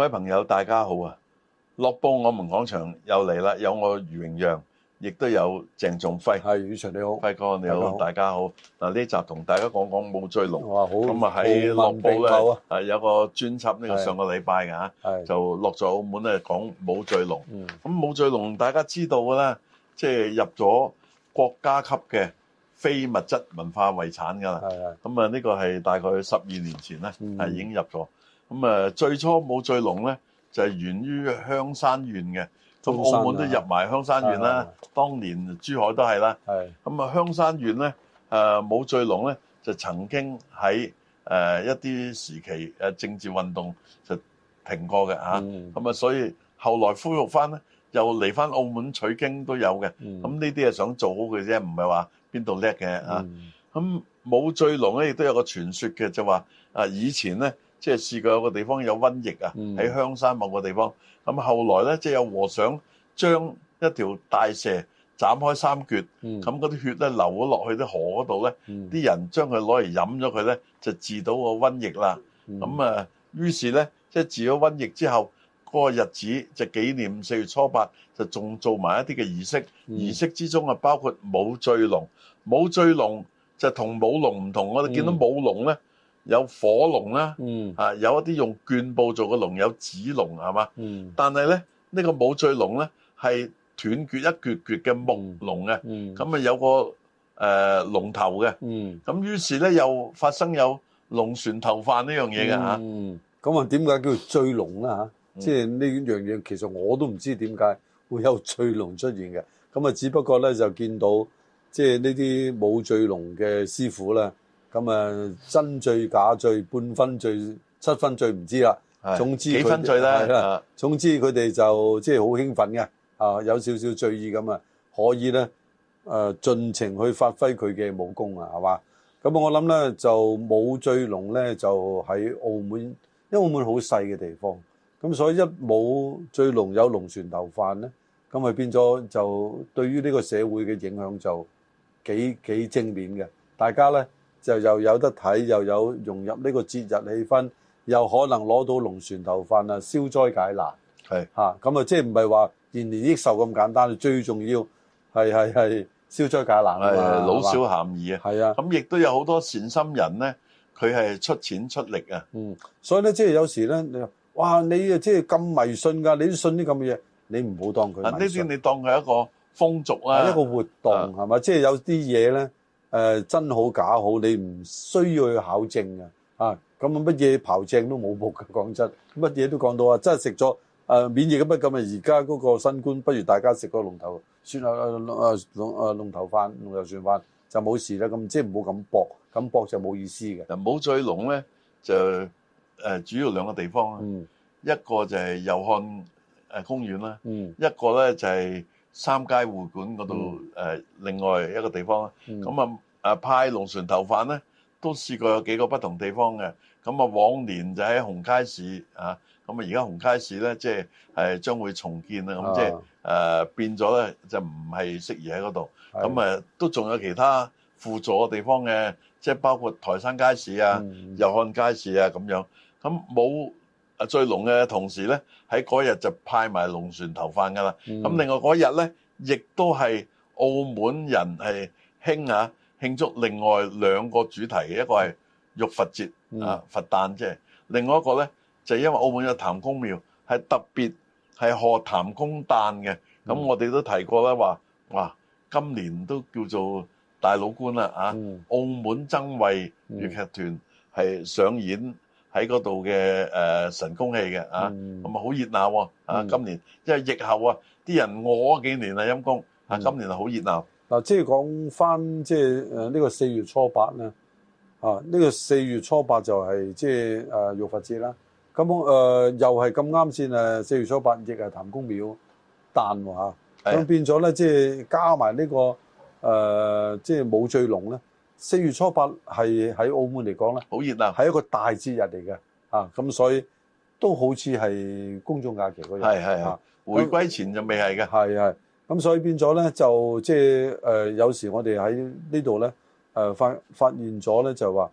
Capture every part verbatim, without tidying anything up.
位朋友，大家好啊！樂報我們講場又嚟啦，有我余榮讓，亦都有鄭仲輝。 係，宇祥你好， 輝哥你好，大家好。嗱，呢集同大家講講舞醉龍。 哇，好咁啊喺樂報咧， 啊有個專輯，呢個上個禮拜嘅嚇，就落咗澳門咧講舞醉龍。咁舞醉龍大家知道嘅啦，即係入咗國家級嘅非物質文化遺產㗎啦。咁啊，呢個係大概十二年前咧，係已經入咗。咁啊，最初舞醉龍咧就係源於香山縣嘅，咁澳門都入埋香山縣啦。當年珠海都係啦。咁啊，香山縣咧，誒舞醉龍咧就曾經喺誒一啲時期誒政治運動就停過嘅嚇。咁啊，所以後來恢復翻咧，又嚟翻澳門取經都有嘅。咁呢啲係想做好嘅啫，唔係話邊度叻嘅嚇。咁舞醉龍咧亦都有個傳說嘅，就話啊以前咧。即係試過有個地方有瘟疫啊，喺香山某個地方。咁後來咧，即係有和尚將一條大蛇斬開三橛，咁嗰啲血咧流咗落去啲河嗰度咧，啲人將佢攞嚟飲咗佢咧，就治到個瘟疫啦。咁啊，於是咧，即係治咗瘟疫之後，嗰個日子就紀念四月初八，就仲做埋一啲嘅儀式。儀式之中啊，包括舞醉龍。舞醉龍就同舞龍唔同，我哋見到舞龍咧。有火龍啦，嗯、啊有一啲用絹布做嘅龍，有紙龍係嘛？嗯、但係咧呢、呢個舞醉龍咧係斷絕一橛橛嘅木龍嘅，咁啊、嗯嗯、有個誒、呃、龍頭嘅，咁、嗯、於是咧又發生有龍船頭飯呢樣嘢嘅嚇。 咁啊點解叫做醉龍啦嚇？即係呢樣嘢其實我都唔知點解會有醉龍出現嘅。咁啊只不過咧就見到即係呢啲舞醉龍嘅師傅咧。咁啊，真醉假醉，半分醉七分醉唔知啦。總之幾分醉咧？係啦。 總之佢哋就即係好興奮嘅，啊有少少醉意咁啊，可以咧誒盡情去發揮佢嘅武功啊，係嘛？咁我諗咧就舞醉龍咧就喺澳門，因為澳門好細嘅地方，咁所以一舞醉龍有龍船頭飯咧，咁咪變咗就對於呢個社會嘅影響就幾幾正面嘅，大家咧。就又有得睇，又有融入呢個節日氣氛，又可能攞到龍船頭飯啊，消災解難。係嚇，咁啊，即係唔係話延年益壽咁簡單？最重要係係係消災解難啊嘛， 老少咸宜啊。係啊，咁亦都有好多善心人咧，佢係出錢出力啊。嗯， 所以咧，即係有時咧，你話哇，你啊即係咁迷信㗎，你都信啲咁嘅嘢，你唔好當佢迷信。 呢啲你當佢一個風俗啊， 一個活動係嘛？即係有啲嘢咧。誒、呃、真好假好，你唔需要去考證嘅啊！咁乜嘢刨正都冇僕嘅，講真，乜嘢都講到啊！真係食咗誒免疫嘅乜咁啊！而家嗰個新冠，不如大家食個龍頭算啊啊啊龍啊龍頭飯、龍頭船飯就冇事啦。咁即係唔好咁搏，咁搏就冇意思嘅。 嗱，舞醉龍咧就誒、呃、主要兩個地方啦，嗯、一個就係祐漢誒公園啦，嗯、一個咧就係、是。三街會館嗰度誒，另外一個地方啦。咁啊、嗯，誒派龍船頭飯咧，都試過有幾個不同地方嘅。咁啊，往年就喺紅街市啊，咁啊，而家紅街市咧，即係係將會重建啦。咁即係誒變咗咧，就唔係適宜喺嗰度。咁啊的，都仲有其他輔助嘅地方嘅，即係包括台山街市啊、祐漢、嗯、街市啊咁樣。咁冇。啊！醉龍嘅同時咧，喺嗰日就派埋龍船頭飯噶啦。咁、嗯、另外嗰日咧，亦都係澳門人係興嚇慶祝另外兩個主題嘅，一個係浴佛節、嗯、啊佛誕即係，另外一個咧就係、因為澳門有譚公廟，係特別係賀譚公誕嘅。咁、嗯、我哋都提過啦，話哇今年都叫做大老倌啦啊！嗯、澳門曾慧粵劇團係上演。喺嗰度嘅誒神功戲嘅啊，咁啊好熱鬧喎啊！今年因為疫後啊，啲人餓咗幾年啦陰公啊，今年係好熱鬧。 嗱，即係講翻即係誒呢個四月初八咧啊，呢個四月初八就係即係誒浴佛節啦。咁誒又係咁啱先誒四月初八亦係譚公廟誕喎嚇，咁變咗咧即係加埋呢個誒即係舞醉龍咧。四月初八係喺澳門嚟講咧， 好熱鬧， 係一個大節日嚟嘅啊！咁所以都好似係公眾假期嗰日， 係係啊，回歸前就未係嘅， 係係。咁所以變咗咧，就即係誒有時我哋喺呢度咧誒發發現咗咧，就話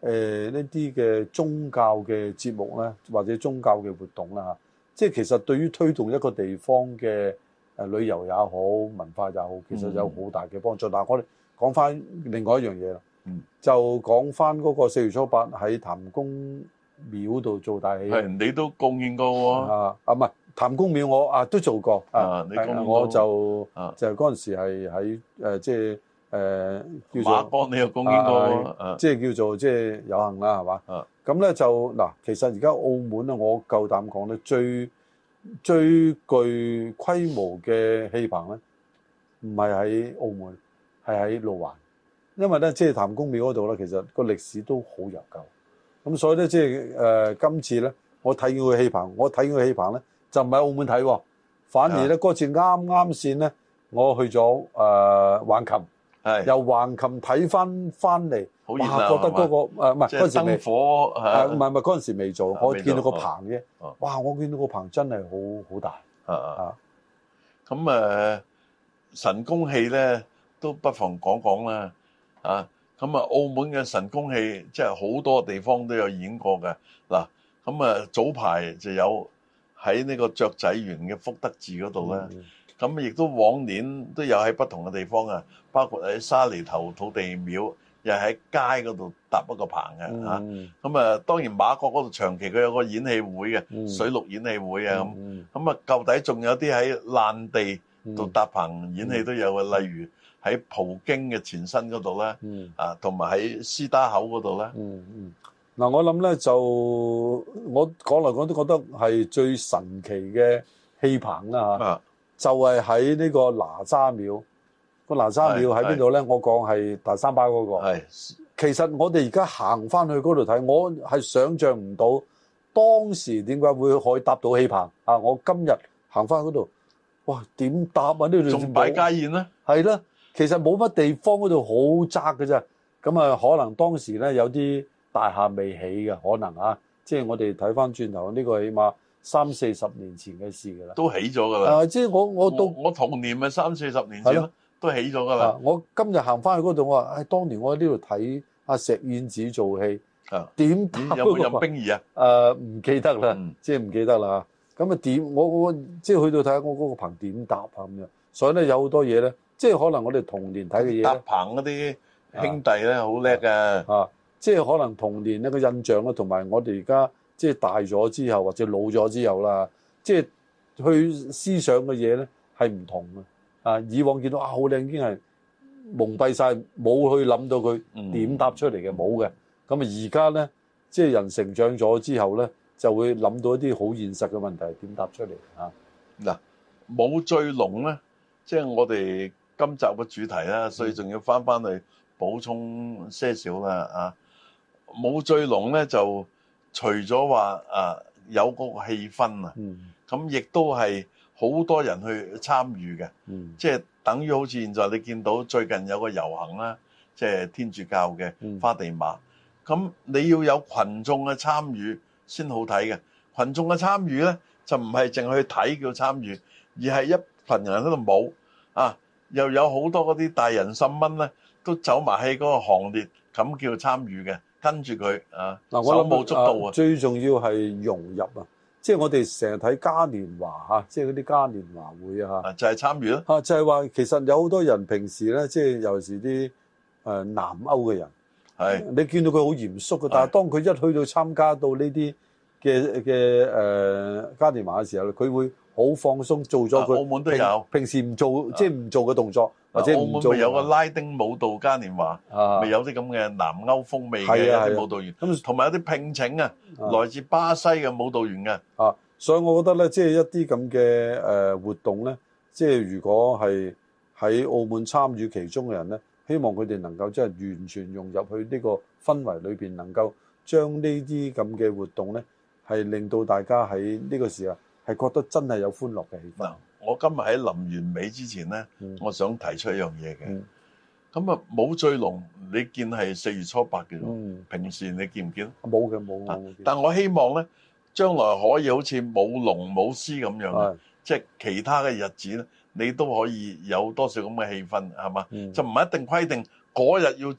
誒呢啲嘅宗教嘅節目咧，或者宗教嘅活動啦嚇，即係其實對於推動一個地方嘅誒旅遊也好、文化也好，其實有好大嘅幫助。嗯、但係我哋講翻另外一樣嘢啦，嗯、就講翻嗰個四月初八喺譚公廟度做大戲， 係你都貢獻過喎。 啊啊唔係譚公廟我啊都做過啊， 啊你貢獻過我就、 啊、 就嗰陣時係喺誒即係。誒、呃、叫做馬幫你又貢獻過、啊啊、 即係叫做即係有幸啦，係嘛？咁咧、啊、就嗱，其實而家澳門咧，我夠膽講咧，最最具規模嘅戲棚咧，唔係喺澳門，係喺路環，因為咧即係譚公廟嗰度咧，其實個歷史都好悠久。咁所以咧即係誒今次咧，我睇見佢戲棚，我睇見佢戲棚咧就唔喺澳門睇喎，反而咧嗰、啊、次啱啱先咧，我去咗誒、呃、橫琴。係由橫琴睇翻翻嚟，哇！覺得嗰個誒唔係嗰陣時未，誒唔係唔係嗰陣時未做，我見到個棚啫。哇！我見到個棚真係好好大。啊啊！ 咁誒神功戲咧，都不妨講講啦。啊！咁啊，澳門嘅神功戲即係好多地方都有演過嘅。嗱，咁啊早排就有喺呢個雀仔園嘅福德寺嗰度咧。咁亦都往年都有喺不同嘅地方啊，包括喺沙梨頭土地廟，又喺街嗰度搭一個棚嘅嚇。咁啊，當然馬國嗰度長期佢有個演戲會嘅，嗯、水陸演戲會啊咁。咁啊、嗯，舊底仲有啲喺爛地度搭棚演戲都有嘅，嗯、例如喺葡京嘅前身嗰度咧，嗯、啊，同埋喺司打口嗰度咧。嗯嗯。 嗱，我諗咧就我講嚟講都覺得係最神奇嘅戲棚啦嚇。啊就係喺呢個哪吒廟，個哪吒廟喺邊度咧？我講係大三巴嗰、那個。係，其實我哋而家行翻去嗰度睇，我係想像唔到當時點解會可以搭到戲棚啊！我今日行翻嗰度，哇，點搭啊？呢度仲擺家宴咧？ 係啦，其實冇乜地方，嗰度好窄嘅啫。咁啊，可能當時咧有啲大廈未起嘅，可能啊，即係我哋睇翻轉頭呢個起碼。三四十年前嘅事㗎啦， 都起咗㗎啦。 啊，即係我我到我童年咪三四十年前咯，都起咗㗎啦。 我今日行翻去嗰度，我話：唉，當年我喺呢度睇阿石燕子做戲，點有冇任冰兒啊？ 誒，唔記得啦，即係唔記得啦。咁啊點？我我即係去到睇下我嗰個棚點搭啊咁樣。所以咧有好多嘢咧，即係可能我哋童年睇嘅嘢。 搭棚嗰啲兄弟咧好叻㗎。 啊，即係可能童年一個印象啦，同埋我哋而家。即係大咗之後，或者老咗之後啦，即係去思想嘅嘢咧係唔同嘅。啊，以往見到啊好靚，已經係蒙蔽晒，冇去諗到佢點搭出嚟嘅，冇嘅。咁啊而家咧，即係人成長咗之後咧，就會諗到一啲好現實嘅問題，點搭出嚟啊？ 嗱，舞醉龍咧，即係我哋今集嘅主題啦，所以仲要翻翻去補充些少啦啊！舞醉龍咧就。除咗話啊有嗰個氣氛啊，咁亦都係好多人去參與嘅，即係等於好似現在你見到最近有個遊行啦，即係天主教嘅花地瑪，咁你要有群眾嘅參與先好睇嘅。群眾嘅參與咧就唔係淨係去睇叫參與，而係一群人喺度舞啊，又有好多嗰啲大人十蚊咧都走埋喺嗰個行列，咁叫參與嘅。跟住佢啊，手舞足蹈啊！ 最重要係融入啊！即係我哋成日睇嘉年華嚇，即係嗰啲嘉年華會啊， 就係參與咯嚇，就係話其實有好多人平時咧，即係尤其是啲誒南歐嘅人，係你見到佢好嚴肅嘅，但係當佢一去到參加到呢啲嘅嘅誒嘉年華嘅時候，佢會好放鬆，做咗佢澳門都有平時唔做即係唔做嘅動作。或者澳門咪有個拉丁舞蹈嘉年華，咪、啊、有啲咁嘅南歐風味嘅一啲舞蹈員，咁同埋有啲聘請啊，啊來自巴西嘅舞蹈員嘅。 啊，所以我覺得咧，即係一啲咁嘅誒活動咧，即係如果係喺澳門參與其中嘅人咧，希望佢哋能夠即係完全融入去呢個氛圍裏邊，能夠將呢啲咁嘅活動咧，係令到大家喺呢個時候係覺得真係有歡樂嘅氣氛。 嗯我今日喺臨完尾之前咧，嗯、我想提出一樣嘢嘅。咁啊、嗯，舞醉龍你見係四月初八嘅，嗯、平時你見唔見？ 冇嘅，冇。啊、 但我希望咧，將來可以好似舞龍舞獅咁樣嘅，即係的其他嘅日子咧，你都可以有多少咁嘅氣氛，係嘛？嗯、就唔係一定規定嗰日要做，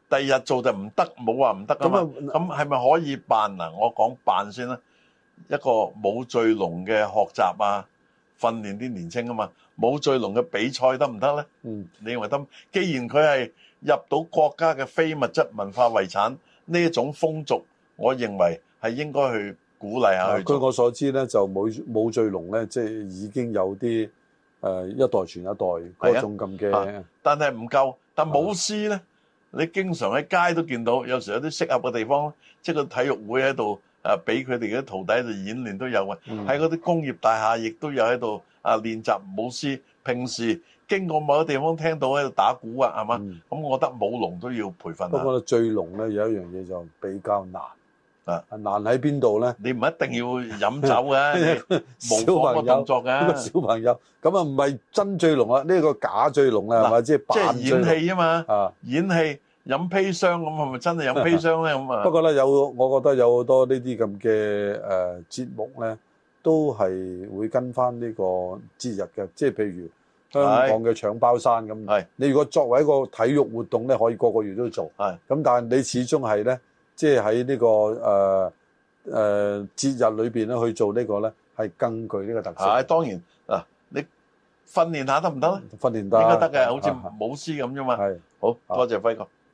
第二日做就唔得，冇話唔得噶嘛。咁係咪可以辦嗱？我講辦先啦。一個舞醉龍嘅學習啊，訓練啲年青啊嘛。舞醉龍嘅比賽得唔得咧？嗯，你認為得？既然佢係入到國家嘅非物質文化遺產呢一種風俗，我認為係應該去鼓勵下去做。據我所知咧，就舞舞醉龍咧，即係已經有啲誒一代傳一代嗰種咁嘅。但係唔夠。但舞獅咧，你經常喺街都見到，有時有啲適合嘅地方，即係個體育會喺度誒，俾佢哋啲徒弟喺度演練都有嘅。喺嗰啲工業大廈亦都有喺度啊練習舞獅。平時經過某啲地方聽到喺度打鼓啊，係嘛？咁我覺得舞龍都要培訓下。不過醉龍咧有一樣嘢就比較難啊，難喺邊度咧？你唔一定要飲酒嘅，模仿個動作嘅。小朋友咁啊，唔係真醉龍啊，呢個假醉龍啊，係咪？即係扮醉龍。即係演戲啊嘛。啊，演戲飲砒霜咁，係咪真係飲砒霜咧？咁啊。不過咧，有我覺得有好多呢啲咁嘅誒節目咧，都係會跟翻呢個節日嘅，即係譬如香港嘅搶包山咁。係。你如果作為一個體育活動咧，可以個個月都做。係。咁但係你始終係咧。即係喺呢個誒誒節日裏邊咧去做呢個咧，係更具呢個特色。係當然嗱，你訓練下得唔得咧？訓練得應該得嘅，好似舞獅咁啫嘛。係，好多謝輝哥。